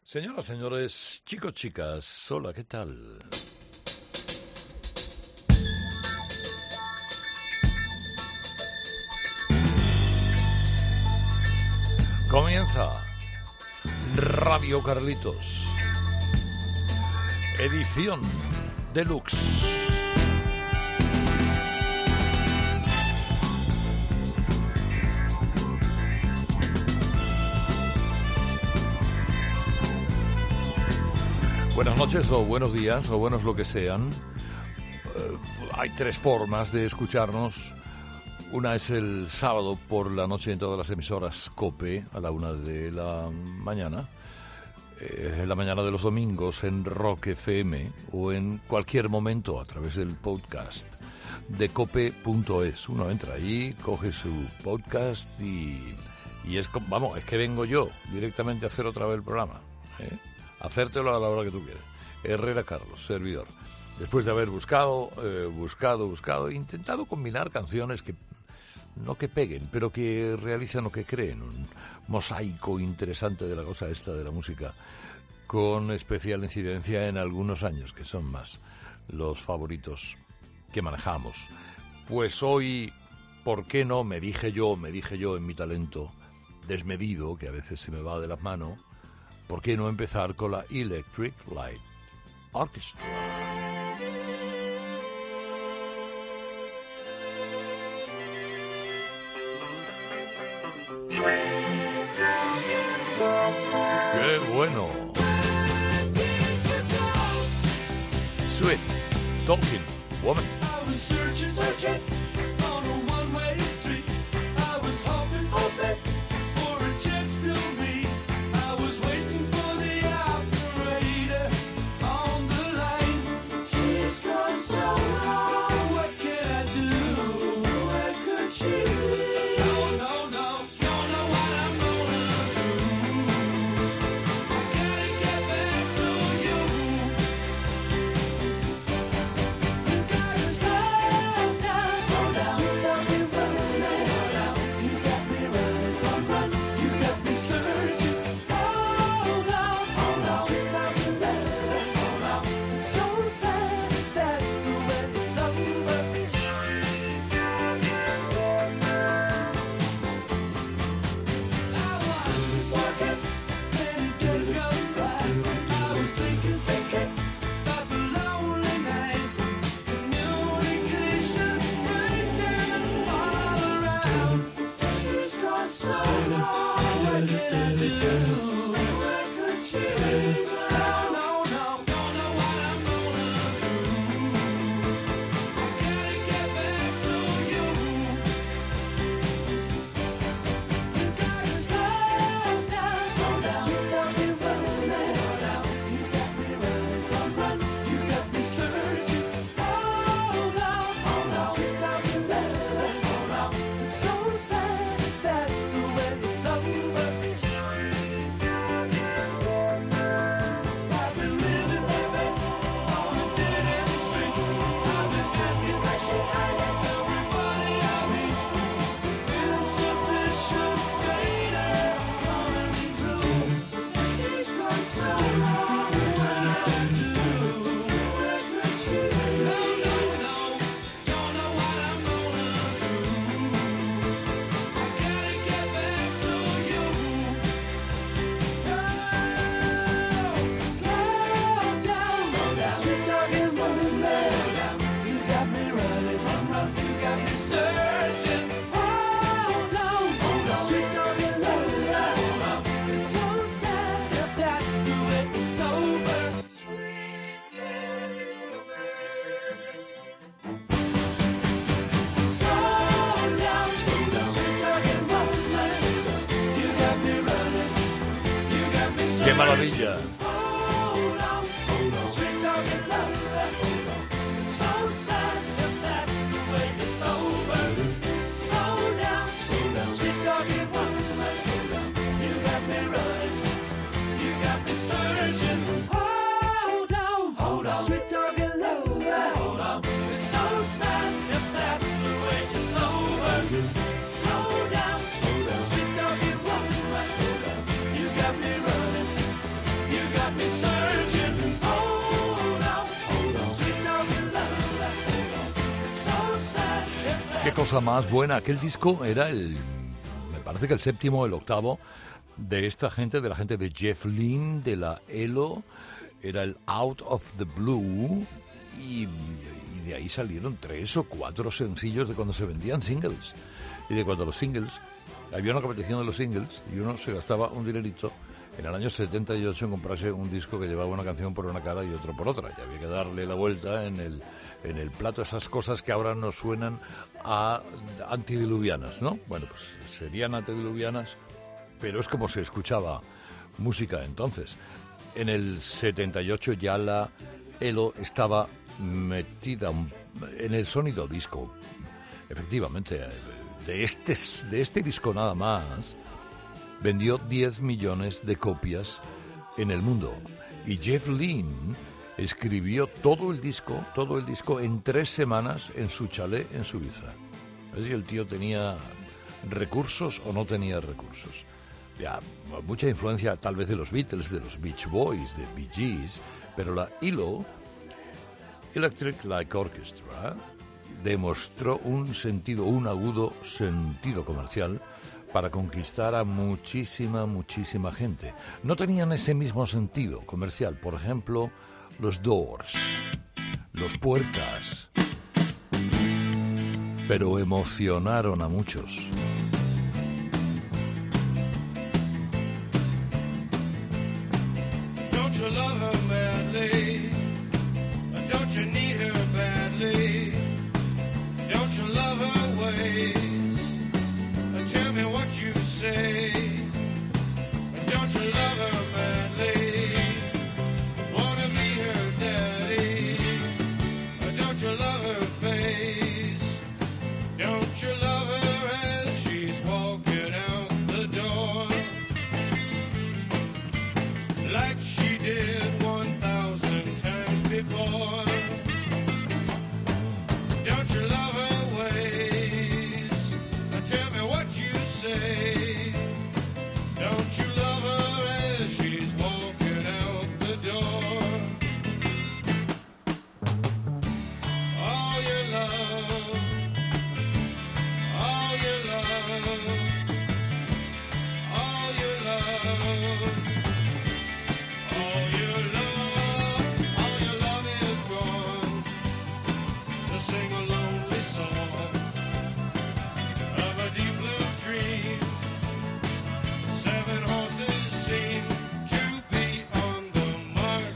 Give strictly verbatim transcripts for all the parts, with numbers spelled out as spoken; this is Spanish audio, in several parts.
Señoras, señores, chicos, chicas, hola, ¿qué tal? Comienza Radio Carlitos, edición deluxe. Buenas noches o buenos días o buenos lo que sean. Uh, hay tres formas de escucharnos. Una es el sábado por la noche en todas las emisoras COPE a la una de la mañana. Eh, en la mañana de los domingos en Rock F M o en cualquier momento a través del podcast de cope punto es. Uno entra allí, coge su podcast y, y es, vamos, es que vengo yo directamente a hacer otra vez el programa, ¿eh? Hacértelo a la hora que tú quieras. Herrera Carlos, servidor. Después de haber buscado, eh, buscado, buscado, intentado combinar canciones que no que peguen, pero que realicen o que creen un mosaico interesante de la cosa esta de la música, con especial incidencia en algunos años, que son más los favoritos que manejamos. Pues hoy, ¿por qué no? Me dije yo, me dije yo en mi talento desmedido, que a veces se me va de las manos, ¿por qué no empezar con la Electric Light Orchestra? ¡Qué bueno! Sweet Talking Woman. ¡Qué maravilla! Qué cosa más buena. Aquel disco era el, me parece que el séptimo o el octavo de esta gente, de la gente de Jeff Lynne, de la E L O. Era el Out of the Blue y, y de ahí salieron tres o cuatro sencillos de cuando se vendían singles. Y de cuando los singles, había una competición de los singles y uno se gastaba un dinerito en el año setenta y ocho en comprarse un disco que llevaba una canción por una cara y otro por otra. Y había que darle la vuelta en el, en el plato, esas cosas que ahora nos suenan a antidiluvianas, ¿no? Bueno, pues serían antediluvianas, pero es como se escuchaba música entonces. En el setenta y ocho ya la E L O estaba metida en el sonido disco. Efectivamente, de este, de este disco nada más vendió diez millones de copias en el mundo. Y Jeff Lynne escribió todo el disco, todo el disco en tres semanas en su chalet en Suiza. A ver si el tío tenía recursos o no tenía recursos. Ya, mucha influencia tal vez de los Beatles, de los Beach Boys, de Bee Gees, pero la E L O, Electric Light Orchestra, demostró un sentido, un agudo sentido comercial para conquistar a muchísima, muchísima gente. No tenían ese mismo sentido comercial, por ejemplo, los Doors, los Puertas, pero emocionaron a muchos. Don't you love her madly? Don't you need her badly? Don't you love her ways? Tell me what you say. Don't you love her madly? Wanna be her daddy? Don't you love her face? Don't you love her as she's walking out the door? Like she did one thousand times before. Don't you love her ways? Tell me what you say. Don't you love her as she's walking out the door? All your love, all your love, all your love, all your love, all your love is gone. So sing a lonely song of a deep blue dream. Seven horses seem to be on the mark.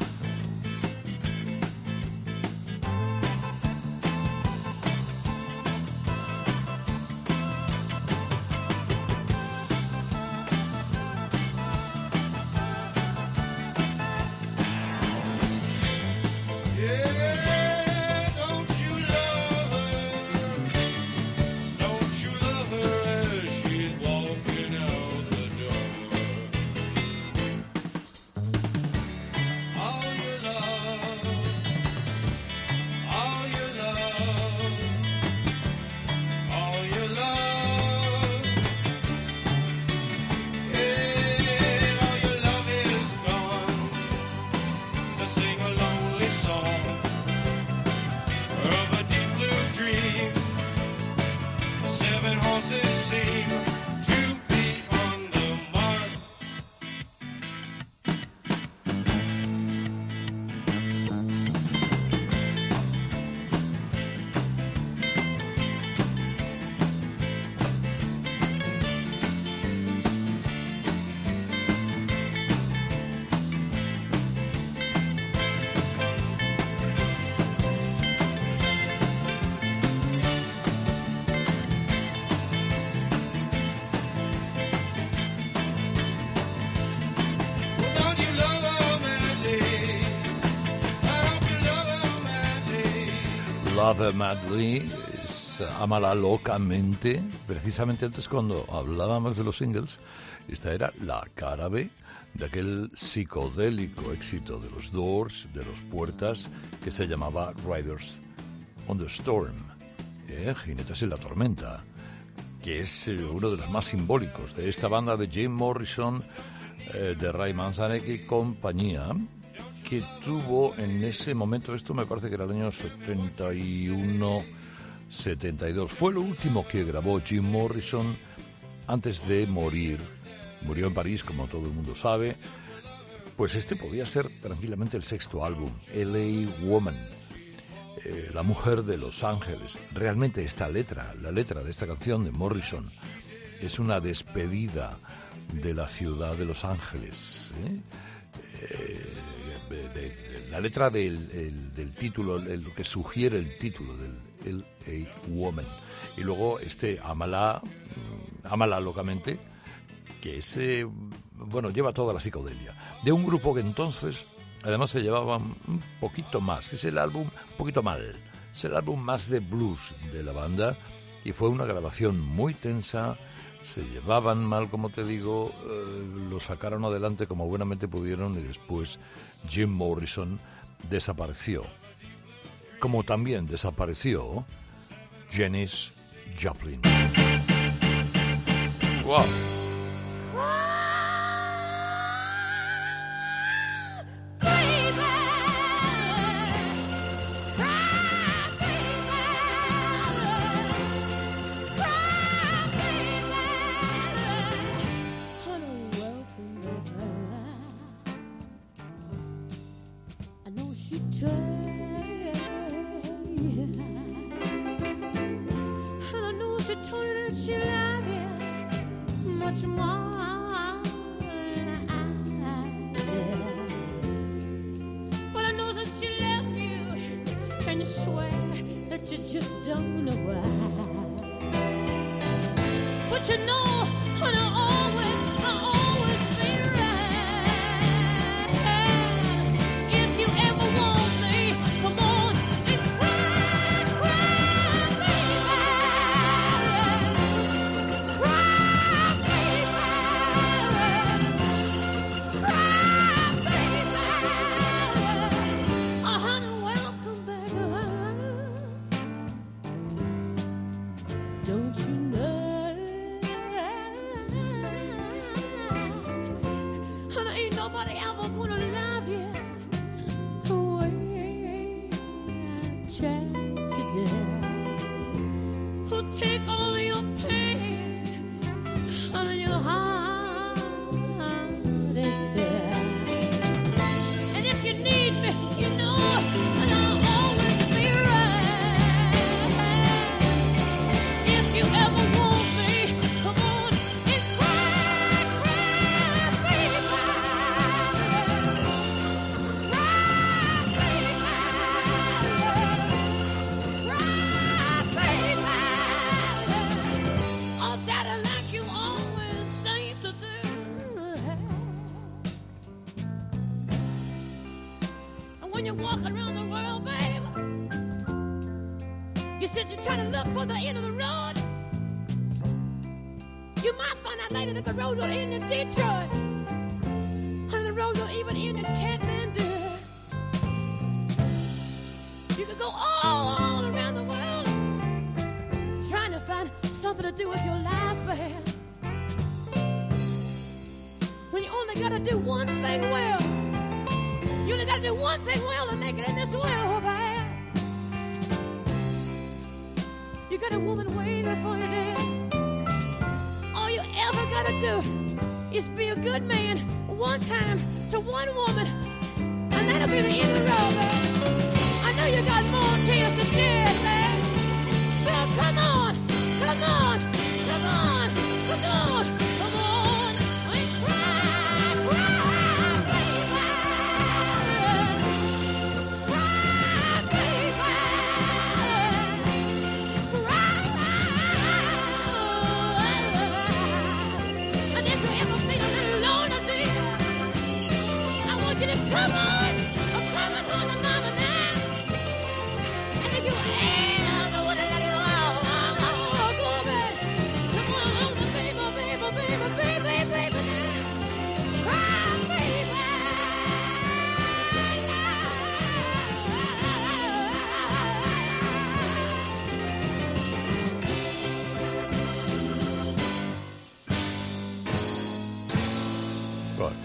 Yeah, don't you love her? Don't you love her as she's walking out the door? All your love, all your love, all your love. Yeah, all your love is gone. So sing a lonely song of a deep blue dream. Seven horses seem to be on the mark. Don't you love her madly? Don't you love her madly? Love Her Madly es Amala locamente. Precisamente antes, cuando hablábamos de los singles, esta era la cara B de aquel psicodélico éxito de los Doors, de los Puertas, que se llamaba Riders on the Storm, eh, Jinetes en la Tormenta, que es eh, uno de los más simbólicos de esta banda de Jim Morrison, eh, de Ray Manzarek y compañía, que tuvo en ese momento, esto me parece que era el año setenta y uno, setenta y dos, fue lo último que grabó Jim Morrison antes de morir. Murió en París, como todo el mundo sabe. Pues este podía ser tranquilamente el sexto álbum, L A Woman, eh, la mujer de Los Ángeles. Realmente esta letra, la letra de esta canción de Morrison, es una despedida de la ciudad de Los Ángeles. ¿eh? Eh, de, de, de, la letra del, el, del título, el, lo que sugiere el título del L A Woman. Y luego este Ámala, Ámala locamente, que ese, bueno, lleva toda la psicodelia. De un grupo que entonces, además, se llevaba un poquito más. Es el álbum, un poquito mal. Es el álbum más de blues de la banda. Y fue una grabación muy tensa. Se llevaban mal, como te digo. Eh, lo sacaron adelante como buenamente pudieron. Y después Jim Morrison desapareció. Como también desapareció Janis Joplin. ¡Wow!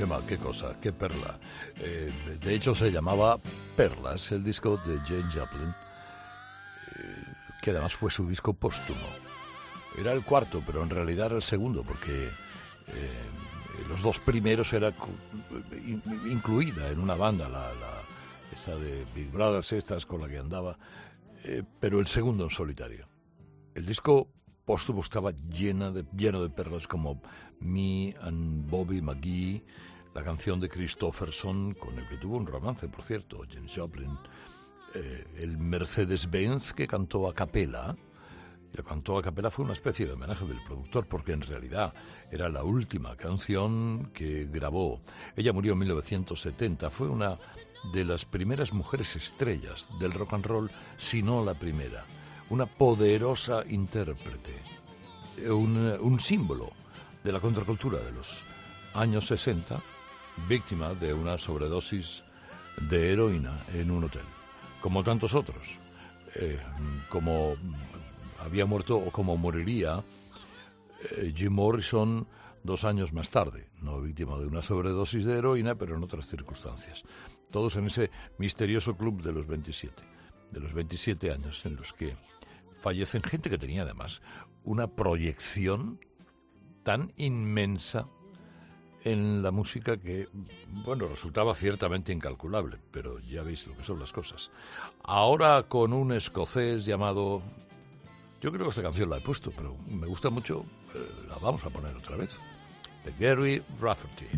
ma- qué cosa, qué perla. Eh, de hecho, se llamaba Perlas, el disco de Jane Joplin, eh, que además fue su disco póstumo. Era el cuarto, pero en realidad era el segundo, porque eh, los dos primeros era in, incluida en una banda, la, la esta de Big Brothers, estas con la que andaba, eh, pero el segundo en solitario. El disco póstumo estaba llena de, lleno de perlas como Me and Bobby McGee, la canción de Christopherson, con el que tuvo un romance, por cierto, Janis Joplin, eh, el Mercedes-Benz que cantó a capela. La cantó a capela fue una especie de homenaje del productor, porque en realidad era la última canción que grabó. Ella murió en mil novecientos setenta, fue una de las primeras mujeres estrellas del rock and roll, si no la primera. Una poderosa intérprete, un, un símbolo de la contracultura de los años sesenta, víctima de una sobredosis de heroína en un hotel, como tantos otros, eh, como había muerto o como moriría eh, Jim Morrison dos años más tarde, no víctima de una sobredosis de heroína, pero en otras circunstancias. Todos en ese misterioso club de los veintisiete, de los veintisiete años en los que fallecen gente que tenía además una proyección tan inmensa en la música que, bueno, resultaba ciertamente incalculable, pero ya veis lo que son las cosas. Ahora con un escocés llamado... Yo creo que esta canción la he puesto, pero me gusta mucho, eh, la vamos a poner otra vez, de Gary Rafferty.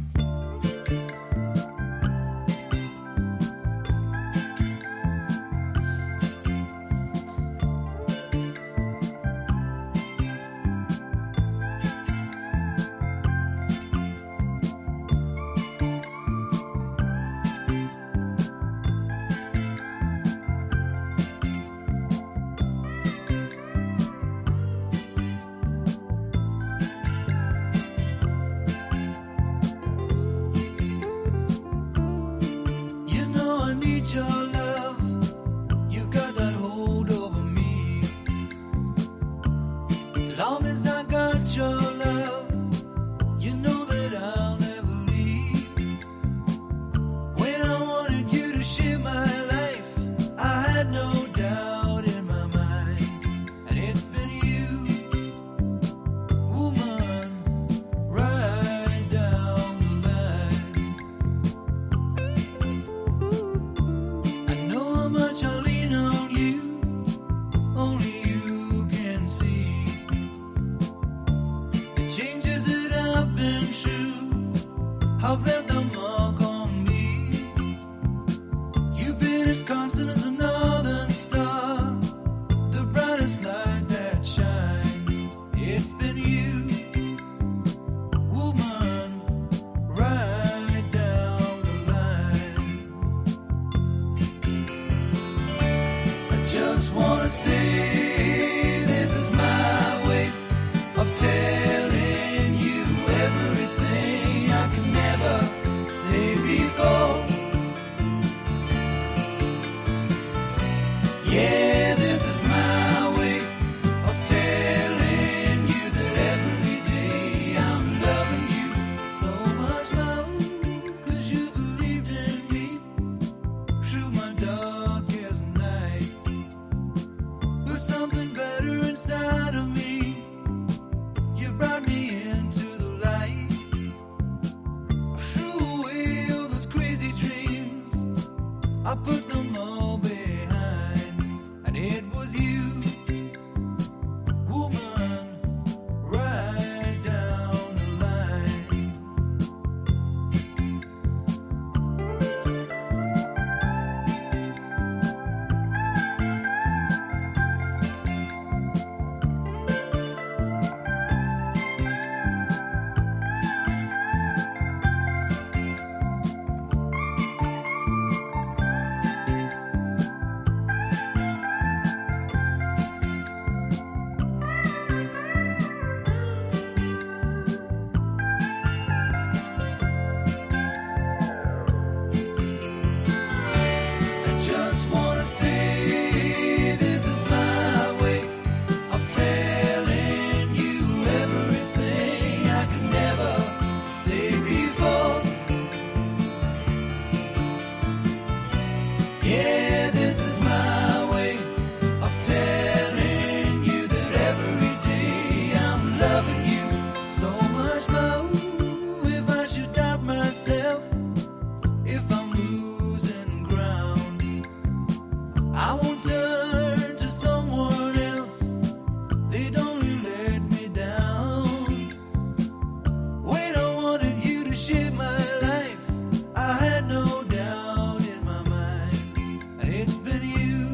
Yeah, this is my way of telling you that every day I'm loving you so much more. If I should doubt myself, if I'm losing ground, I won't turn to someone else. They'd only let me down. When I wanted you to share my life, I had no doubt in my mind. And it's been you,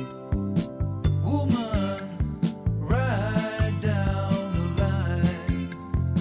woman, right down the line.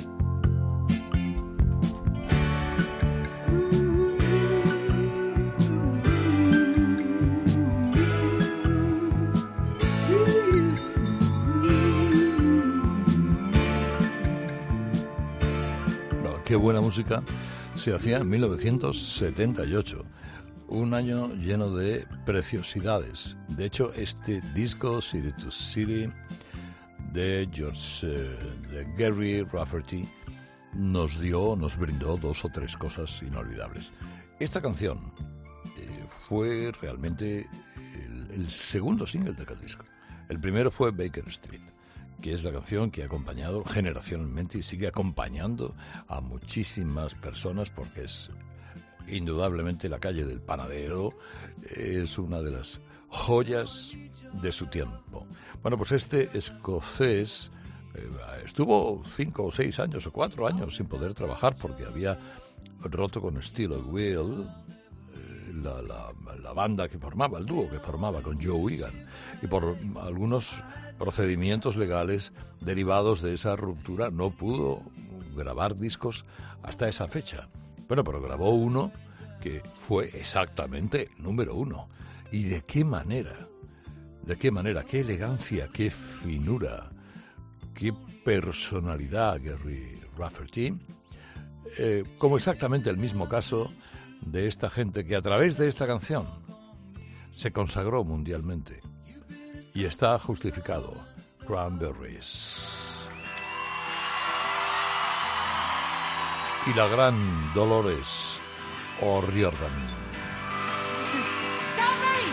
No, qué buena música se hacía en mil novecientos setenta y ocho, un año lleno de preciosidades. De hecho, este disco, City to City, de George, eh, de Gary Rafferty, nos dio, nos brindó dos o tres cosas inolvidables. Esta canción eh, fue realmente el, el segundo single de aquel disco. El primero fue Baker Street, que es la canción que ha acompañado generacionalmente y sigue acompañando a muchísimas personas, porque es indudablemente la calle del panadero, es una de las joyas de su tiempo. Bueno, pues este escocés eh, estuvo cinco o seis años o cuatro años sin poder trabajar porque había roto con Steel Wheel, eh, la, la, la banda que formaba, el dúo que formaba con Joe Wigan, y por algunos procedimientos legales derivados de esa ruptura no pudo grabar discos hasta esa fecha. Bueno, pero grabó uno que fue exactamente número uno. ¿Y de qué manera? ¿De qué manera? ¿Qué elegancia? ¿Qué finura? ¿Qué personalidad, Gary Rafferty? Eh, como exactamente el mismo caso de esta gente que a través de esta canción se consagró mundialmente. Y está justificado. Cranberries. Y la gran Dolores O'Riordan. This is Salve!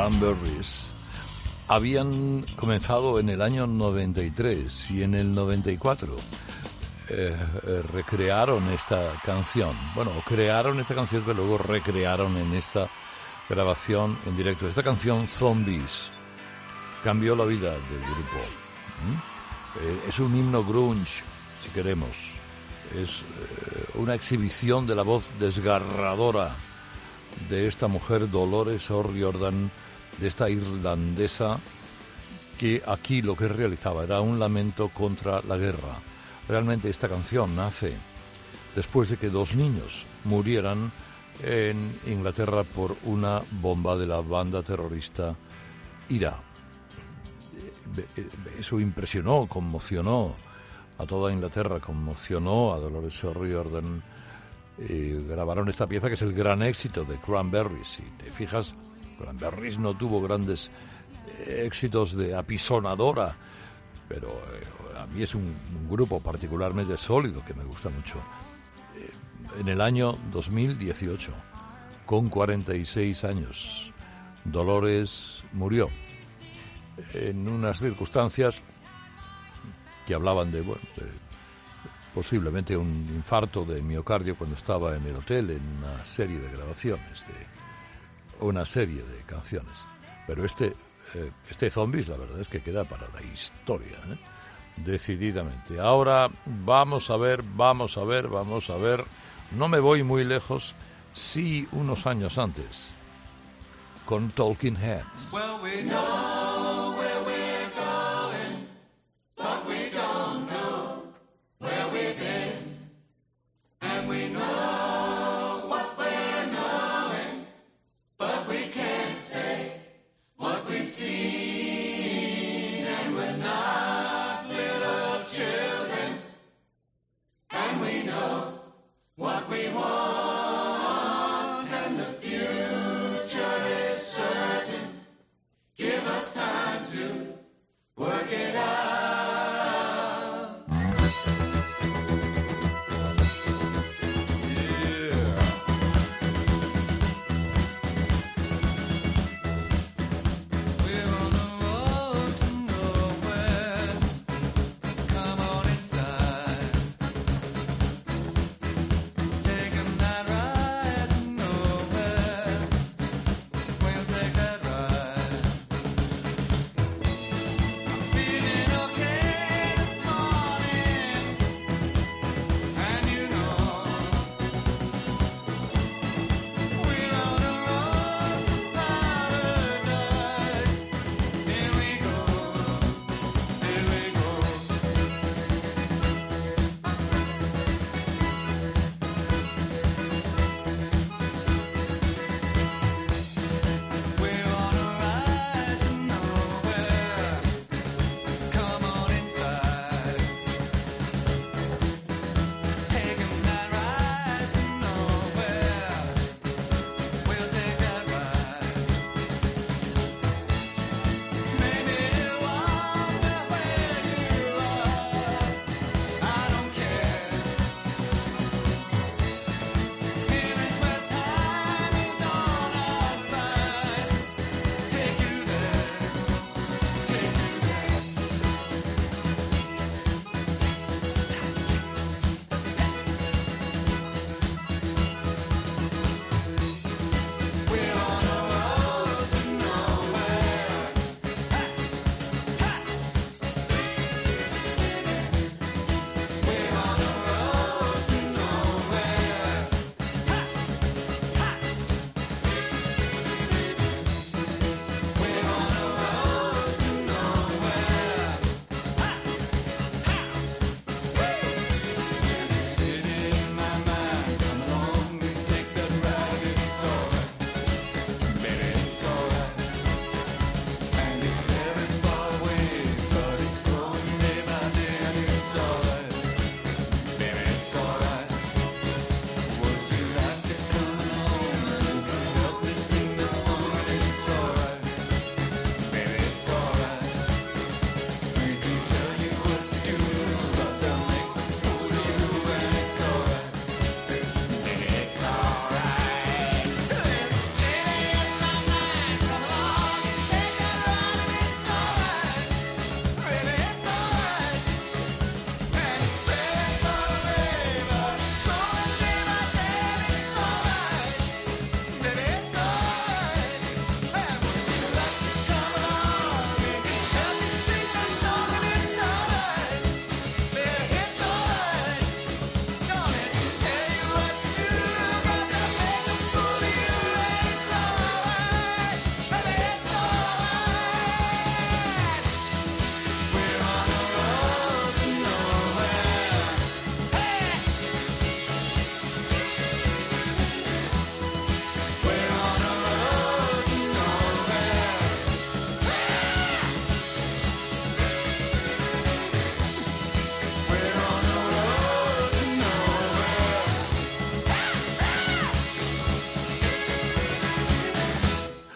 Cranberries habían comenzado en el año noventa y tres y en el noventa y cuatro eh, eh, recrearon esta canción. Bueno, crearon esta canción que luego recrearon en esta grabación en directo. Esta canción, Zombies, cambió la vida del grupo. ¿Mm? Eh, es un himno grunge, si queremos. Es eh, una exhibición de la voz desgarradora de esta mujer, Dolores O'Riordan, de esta irlandesa, que aquí lo que realizaba era un lamento contra la guerra. Realmente esta canción nace después de que dos niños murieran en Inglaterra por una bomba de la banda terrorista IRA. Eso impresionó, conmocionó a toda Inglaterra, conmocionó a Dolores O'Riordan. Eh, grabaron esta pieza que es el gran éxito de Cranberries. Si te fijas, Cranberries no tuvo grandes eh, éxitos de apisonadora, pero eh, a mí es un, un grupo particularmente sólido que me gusta mucho. Eh, en el año dos mil dieciocho, con cuarenta y seis años, Dolores murió en unas circunstancias que hablaban de, bueno, de posiblemente un infarto de miocardio cuando estaba en el hotel en una serie de grabaciones de una serie de canciones. Pero este eh, este Zombies, la verdad es que queda para la historia, ¿eh? Decididamente. Ahora vamos a ver, vamos a ver, vamos a ver. No me voy muy lejos, sí unos años antes, con Talking Heads. Well, we know where we're going, but we don't know where we've been. And we know what we're knowing, but we can't say what we've seen. And we're not little children, and we know what we want, and the future is certain. Give us time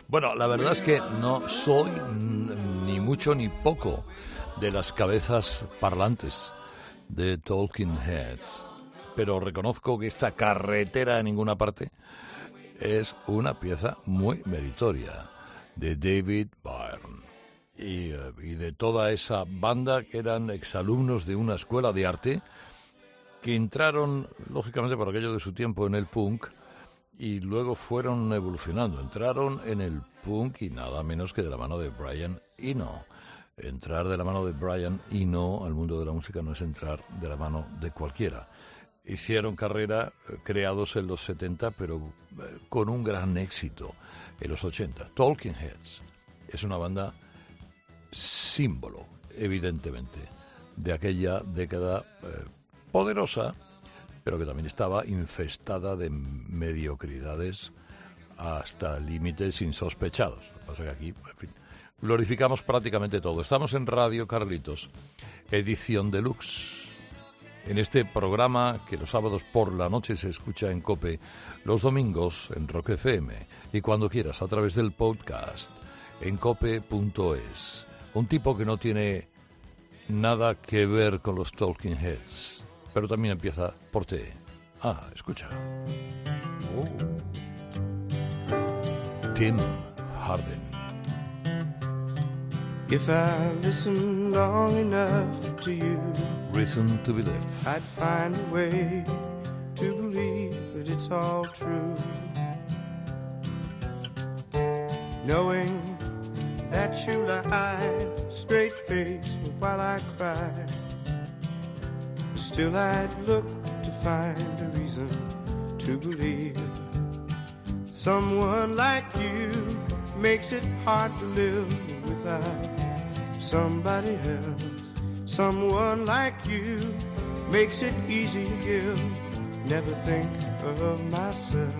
Bueno, la verdad es que no soy ni mucho ni poco de las cabezas parlantes de Talking Heads, pero reconozco que esta carretera a ninguna parte es una pieza muy meritoria de David Byrne y, y de toda esa banda que eran exalumnos de una escuela de arte que entraron, lógicamente por aquello de su tiempo, en el punk y luego fueron evolucionando. Entraron en el punk y nada menos que de la mano de Brian Eno. Entrar de la mano de Brian Eno al mundo de la música no es entrar de la mano de cualquiera. Hicieron carrera eh, creados en los setenta, pero eh, con un gran éxito en los ochenta. Talking Heads es una banda símbolo, evidentemente, de aquella década eh, poderosa, pero que también estaba infestada de mediocridades hasta límites insospechados. Lo que pasa es que aquí, en fin, glorificamos prácticamente todo. Estamos en Radio Carlitos, edición deluxe. En este programa que los sábados por la noche se escucha en COPE, los domingos en Rock F M y cuando quieras a través del podcast en cope punto es. Un tipo que no tiene nada que ver con los Talking Heads, pero también empieza por T. Ah, escucha. Oh. Tim Hardin. If I listened long enough to you, Reason to Believe. I'd find a way to believe that it's all true. Knowing that you lied straight-faced while I cried, still I'd look to find a reason to believe. Someone like you makes it hard to live without somebody else. Someone like you makes it easy to give. Never think of myself.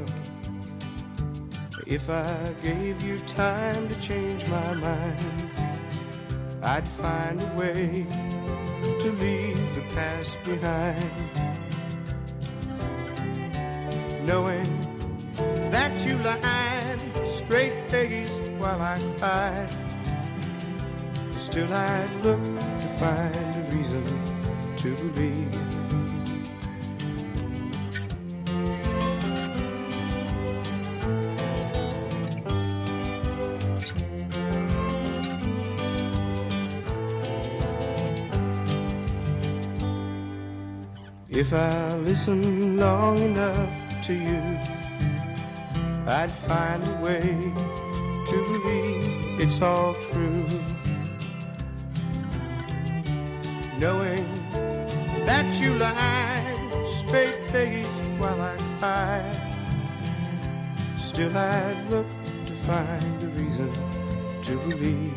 If I gave you time to change my mind, I'd find a way to leave the past behind. Knowing that you lied straight-faced while I cried, still I'd look to find a reason to believe. If I listen long enough to you, I'd find a way to believe it's all true. Knowing that you lied straight-faced while I cried, still I'd look to find a reason to believe.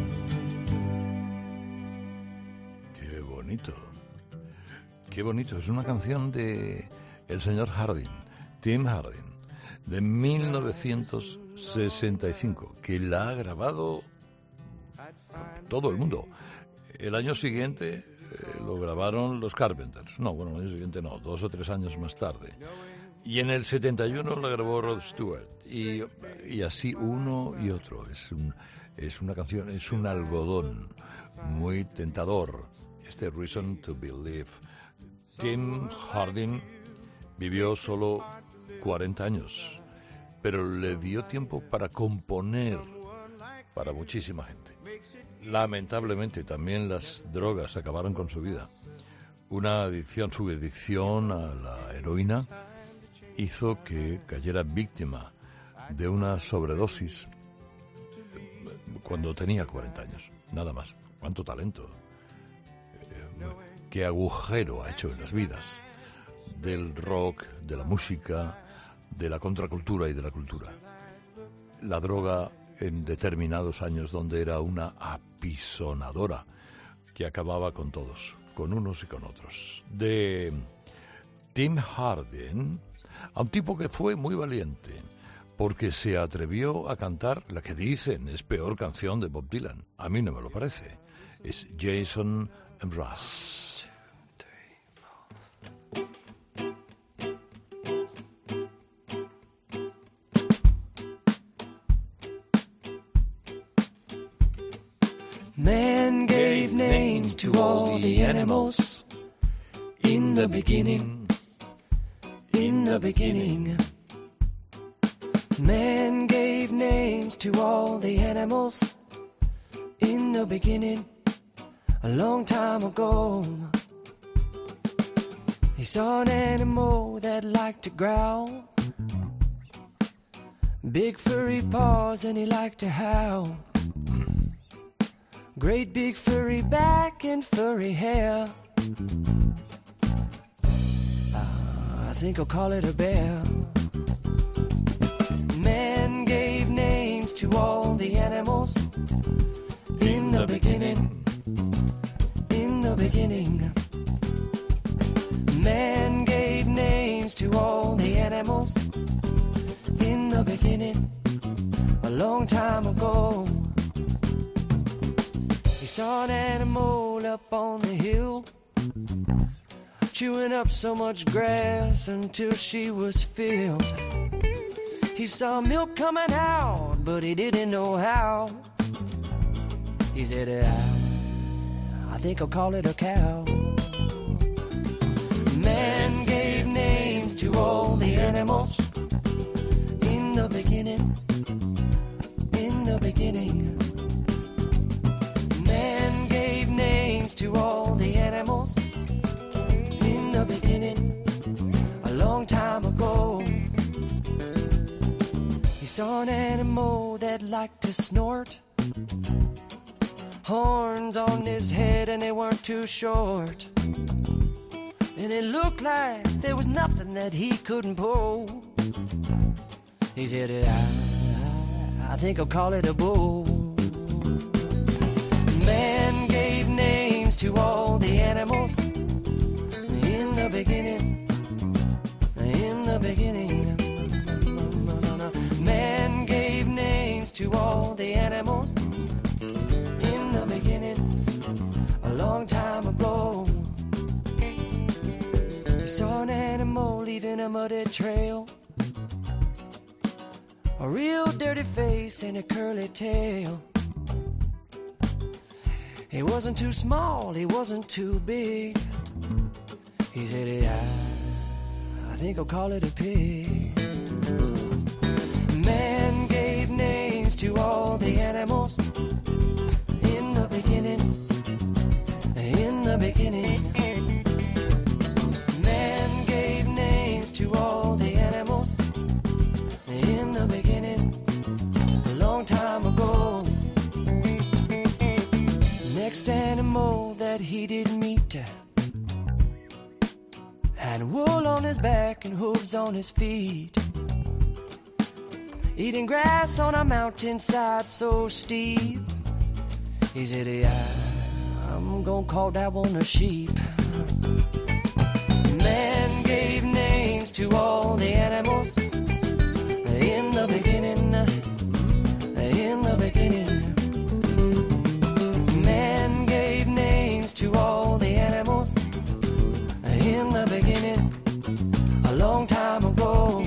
Qué bonito. Qué bonito. Es una canción de el señor Hardin, Tim Hardin, de mil novecientos sesenta y cinco, que la ha grabado todo el mundo. El año siguiente eh, lo grabaron los Carpenters. No, bueno, el año siguiente no, dos o tres años más tarde. Y en el setenta y uno la grabó Rod Stewart. Y, y así uno y otro. Es, un, es una canción, es un algodón muy tentador. Este Reason to Believe. Tim Hardin vivió solo cuarenta años, pero le dio tiempo para componer para muchísima gente. Lamentablemente también las drogas acabaron con su vida. Una adicción, su adicción a la heroína hizo que cayera víctima de una sobredosis cuando tenía cuarenta años, nada más. ¡Cuánto talento! Qué agujero ha hecho en las vidas del rock, de la música, de la contracultura y de la cultura. La droga en determinados años donde era una apisonadora que acababa con todos, con unos y con otros. De Tim Hardin, a un tipo que fue muy valiente porque se atrevió a cantar la que dicen es peor canción de Bob Dylan. A mí no me lo parece. Es Jason Mraz. names to all the animals. In the beginning, in the beginning, man gave names to all the animals. In the beginning, a long time ago, he saw an animal that liked to growl, big furry paws, and he liked to howl. Great big furry back and furry hair. Uh, I think I'll call it a bear. Man gave names to all the animals. In the beginning, in the beginning, man gave names to all the animals. In the beginning, a long time ago, he saw an animal up on the hill, chewing up so much grass until she was filled. He saw milk coming out, but he didn't know how. He said, I, I think I'll call it a cow. Man gave names to all the animals. In the beginning, in the beginning, man gave names to all the animals. In the beginning, a long time ago, he saw an animal that liked to snort, horns on his head and they weren't too short, and it looked like there was nothing that he couldn't pull. He said, I, I think I'll call it a bull. Man gave names to all the animals. In the beginning, in the beginning, man gave names to all the animals. In the beginning, a long time ago, he saw an animal leaving a muddy trail, a real dirty face and a curly tail. He wasn't too small, he wasn't too big. He said, I, I think I'll call it a pig. Man gave names to all the animals. In the beginning, in the beginning, man gave names to all the animals. In the beginning, a long time ago. Next animal that he did meet had wool on his back and hooves on his feet, eating grass on a mountainside so steep. He said, yeah, I'm gonna call that one a sheep. Man gave names to all the animals. In the beginning, in the beginning, man gave names to all the animals. In the beginning, a long time ago,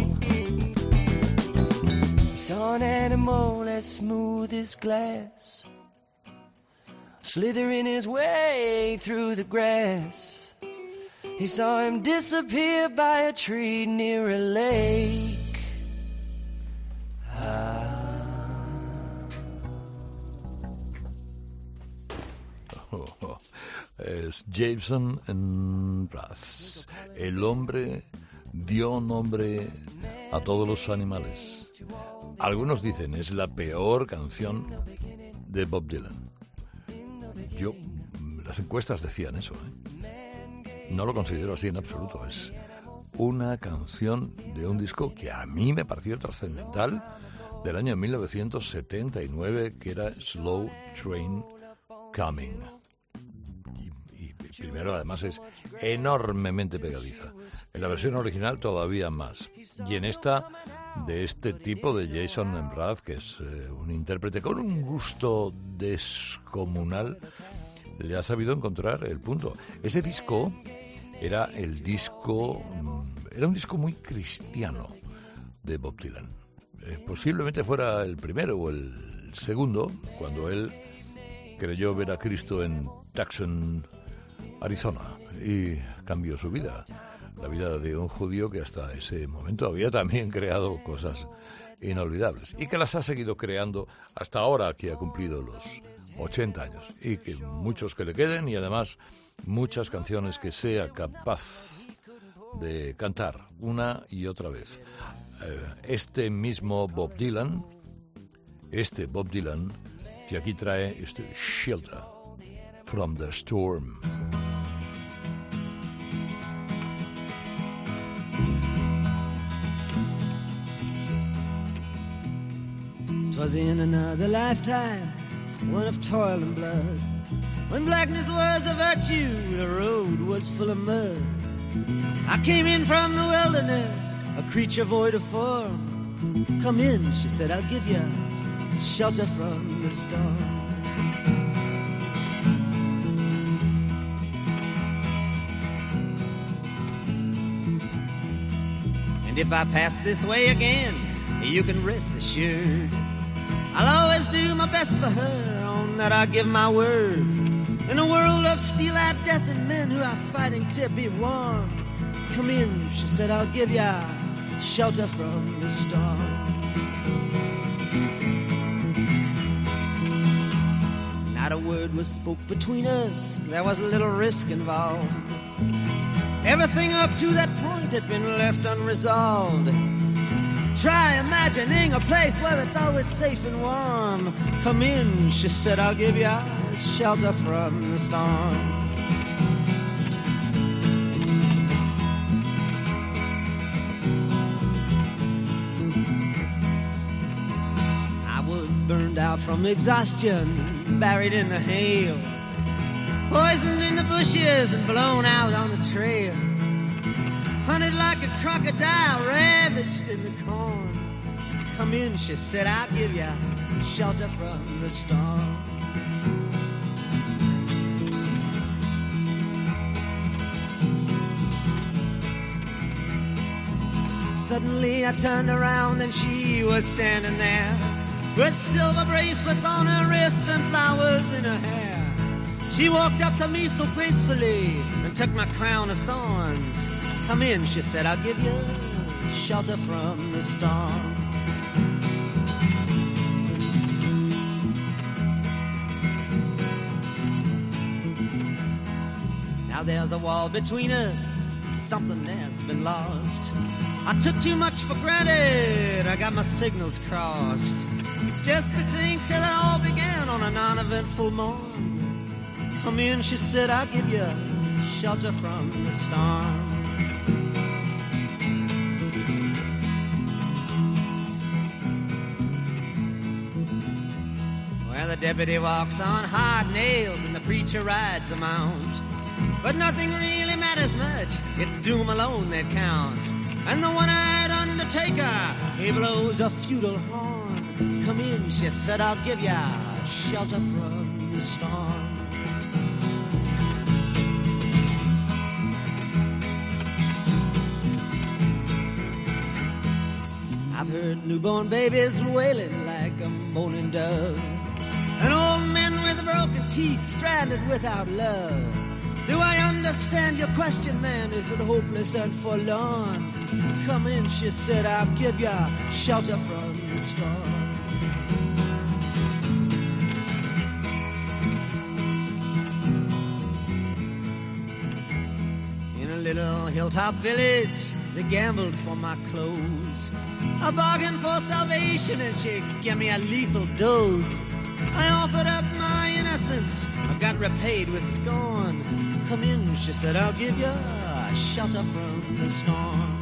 he saw an animal as smooth as glass, slithering his way through the grass. He saw him disappear by a tree near a lake. Es Jason Mraz. El hombre dio nombre a todos los animales. Algunos dicen es la peor canción de Bob Dylan. Yo, las encuestas decían eso, ¿eh? No lo considero así en absoluto. Es una canción de un disco que a mí me pareció trascendental, del año mil novecientos setenta y nueve, que era Slow Train Coming. Primero, además, es enormemente pegadiza. En la versión original todavía más. Y en esta, de este tipo de Jason Mraz, que es eh, un intérprete con un gusto descomunal, le ha sabido encontrar el punto. Ese disco era el disco... Era un disco muy cristiano de Bob Dylan. Eh, posiblemente fuera el primero o el segundo, cuando él creyó ver a Cristo en Tucson, Arizona, y cambió su vida, la vida de un judío que hasta ese momento había también creado cosas inolvidables y que las ha seguido creando hasta ahora que ha cumplido los ochenta años, y que muchos que le queden, y además muchas canciones que sea capaz de cantar una y otra vez. Este mismo Bob Dylan, este Bob Dylan que aquí trae este Shelter from the Storm. 'Twas in another lifetime, one of toil and blood, when blackness was a virtue, the road was full of mud. I came in from the wilderness, a creature void of form. Come in, she said, I'll give you shelter from the storm. And if I pass this way again, you can rest assured I'll always do my best for her, on that I give my word. In a world of steel-eyed death and men who are fighting to be warm, come in, she said, I'll give ya shelter from the storm. Not a word was spoke between us, there was a little risk involved. Everything up to that point had been left unresolved. Try imagining a place where it's always safe and warm. Come in, she said, I'll give you shelter from the storm. I was burned out from exhaustion, buried in the hail, poisoned in the bushes and blown out on the trail. Hunted like a crocodile, ravaged in the corn. Come in, she said, I'll give you shelter from the storm. Suddenly I turned around and she was standing there, with silver bracelets on her wrists and flowers in her hair. She walked up to me so gracefully and took my crown of thorns. Come in, she said, I'll give you shelter from the storm. Now there's a wall between us, something has been lost. I took too much for granted, I got my signals crossed. Just to think till it all began on a non-eventful morn. Come in, she said, I'll give you shelter from the storm. The deputy walks on hard nails and the preacher rides a mount. But nothing really matters much, it's doom alone that counts. And the one-eyed undertaker, he blows a feudal horn. Come in, she said, I'll give ya shelter from the storm. I've heard newborn babies wailing like a moaning dove, and old men with broken teeth, stranded without love. Do I understand your question, man? Is it hopeless and forlorn? Come in, she said, I'll give you shelter from the storm. In a little hilltop village, they gambled for my clothes. I bargained for salvation and she gave me a lethal dose. I offered up my innocence, I got repaid with scorn. Come in, she said, I'll give you a shelter from the storm.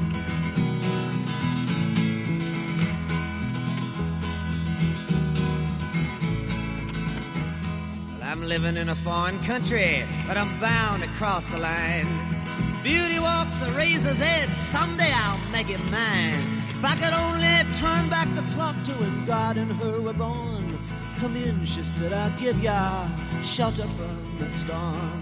Well, I'm living in a foreign country, but I'm bound to cross the line. Beauty walks a razor's edge, someday I'll make it mine. If I could only turn back the clock to when God and her were born. Come in, she said, I'll give ya shelter from the storm.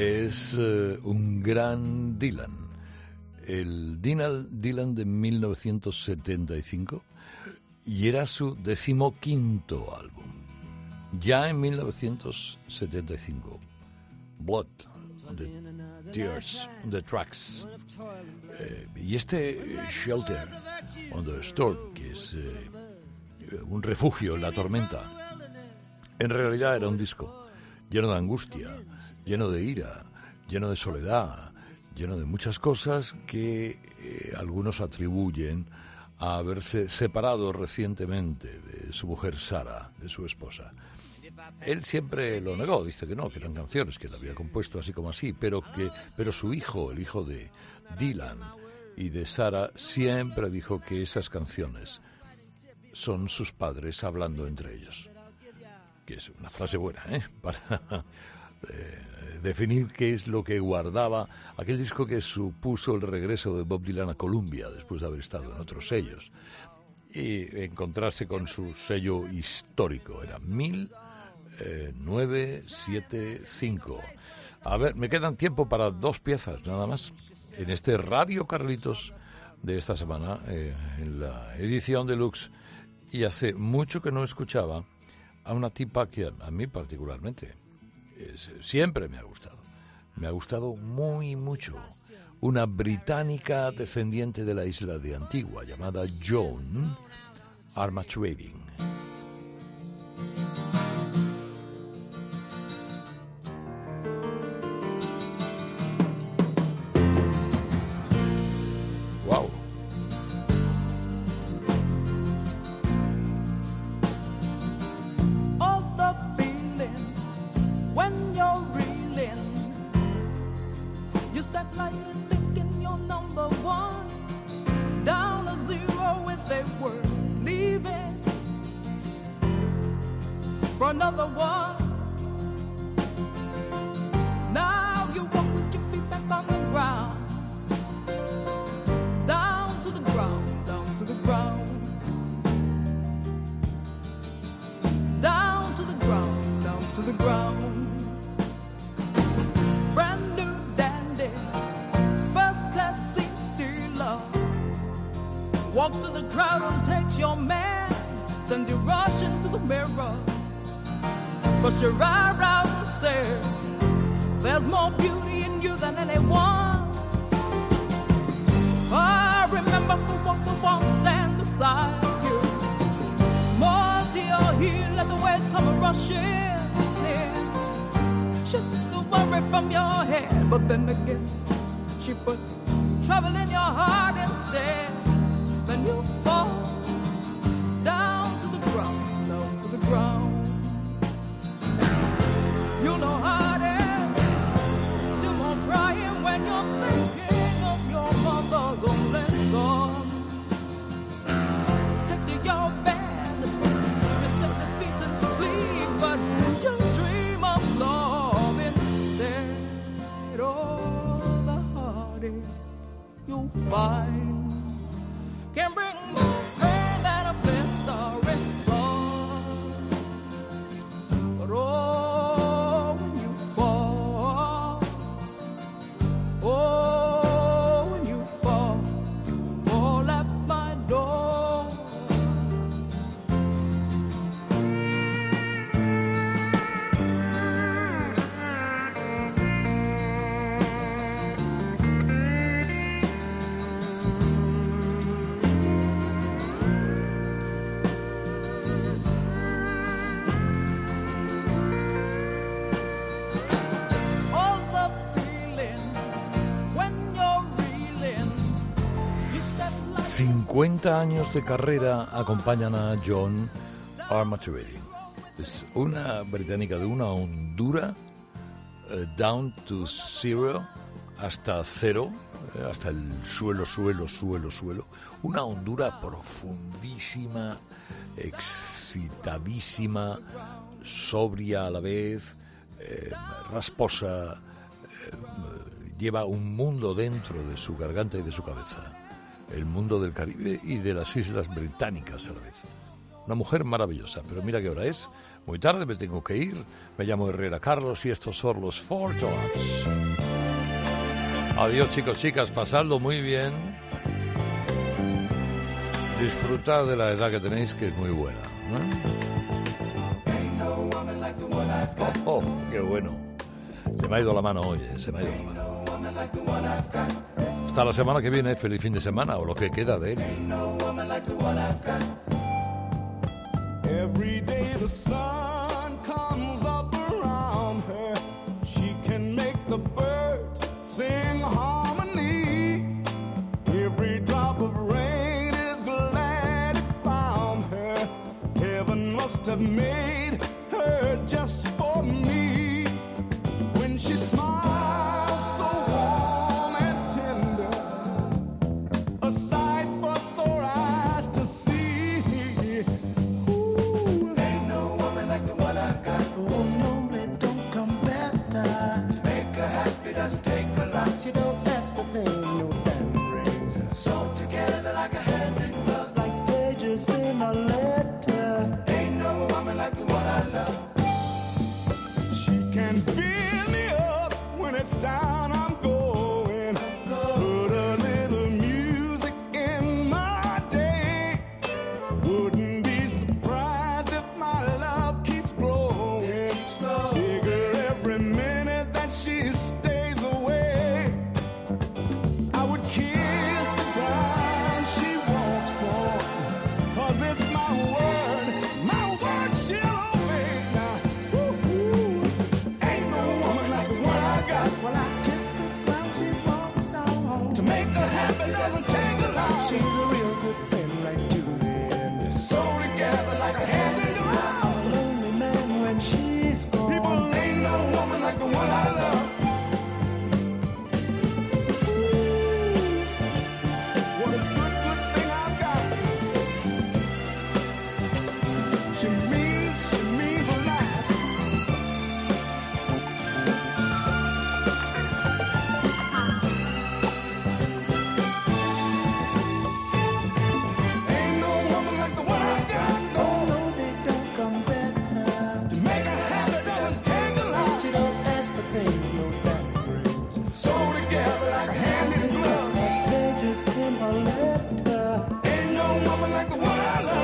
es uh, un gran Dylan. El Dylan, Dylan de mil novecientos setenta y cinco, y era su decimoquinto álbum. Ya en mil novecientos setenta y cinco, Blood, The Tears, The Tracks. Eh, y este Shelter on the Storm, que es eh, un refugio en la tormenta, en realidad era un disco lleno de angustia, lleno de ira, lleno de soledad, lleno de muchas cosas que eh, algunos atribuyen a haberse separado recientemente de su mujer Sarah, de su esposa. Él siempre lo negó, dice que no, que eran canciones que él había compuesto así como así, pero que pero su hijo, el hijo de Dylan y de Sarah, siempre dijo que esas canciones son sus padres hablando entre ellos. Que es una frase buena, ¿eh? Para eh, definir qué es lo que guardaba aquel disco que supuso el regreso de Bob Dylan a Columbia después de haber estado en otros sellos y encontrarse con su sello histórico. Era mil novecientos setenta y cinco. A ver, me quedan tiempo para dos piezas nada más en este Radio Carlitos de esta semana, eh, en la edición deluxe, y hace mucho que no escuchaba a una tipa que a, a mí particularmente es, siempre me ha gustado, me ha gustado muy mucho, una británica descendiente de la isla de Antigua llamada Joan Armatrading. Another one. Now you walk with your feet back on the ground, down to the ground, down to the ground, down to the ground, down to the ground. Brand new dandy, first class seat stealer, walks through the crowd and takes your man, sends you rushing to the mirror. But your eyebrows and say, there's more beauty in you than anyone. I remember who walked the warm sand beside you. More to your heel, let the waves come a rushing in. She took the worry from your head, but then again, she put trouble in your heart instead. Then you fall down to the ground, down to the ground. You know how it is, still more crying when you're thinking of your mother's only son. Take to your bed, you set this peace and sleep, but you dream of love instead. Oh, the heartache you'll find can bring more pain than a blistering sun. But oh, oh, when you fall, you fall at my door. cincuenta años de carrera acompañan a Joan Armatrading. Es una británica de una hondura, uh, down to zero, hasta cero, eh, hasta el suelo, suelo, suelo, suelo. Una hondura profundísima, excitadísima, sobria a la vez, eh, rasposa, eh, lleva un mundo dentro de su garganta y de su cabeza. El mundo del Caribe y de las islas británicas a la vez. Una mujer maravillosa, pero mira qué hora es. Muy tarde, me tengo que ir. Me llamo Herrera Carlos y estos son los Four Tops. Adiós, chicos, chicas, pasadlo muy bien. Disfrutad de la edad que tenéis, que es muy buena, ¿no? Oh, oh, qué bueno. Se me ha ido la mano hoy, eh, se me ha ido la mano. Hasta la semana que viene, feliz fin de semana, o lo que queda de él. Every day the sun comes up around her. She can make the birds sing harmony. Every drop of rain is glad it found her. Heaven must have made her just for me. When she smiles so warm and tender, a sight for sore eyes to see. She don't ask for things, no diamond rings. Sewn together like a hand in glove, like pages in a letter. Ain't no woman like the one I love. She can build me up when it's down I'm going. Put a little music in my day. Wouldn't be surprised if my love keeps growing. Bigger every minute that she stays away. It's my word, my word she'll obey now. Woo-hoo. Ain't no woman like the one I got. Well, I kiss the ground she walks on. To make her happy doesn't take a lot. She's a real good friend right to the end. Sew together like a hand in glove. I'm a lonely man when she's gone. People, ain't no woman like the one I love. What a good, good thing I've got. She means, she means a lot. Ain't no woman like the one I got. No, No, they don't come better. to make her happy doesn't take a lot. She don't ask for things, no diamond rings. Sew together like a hand in glove. Pages in a letter. Ain't no woman like the one I love.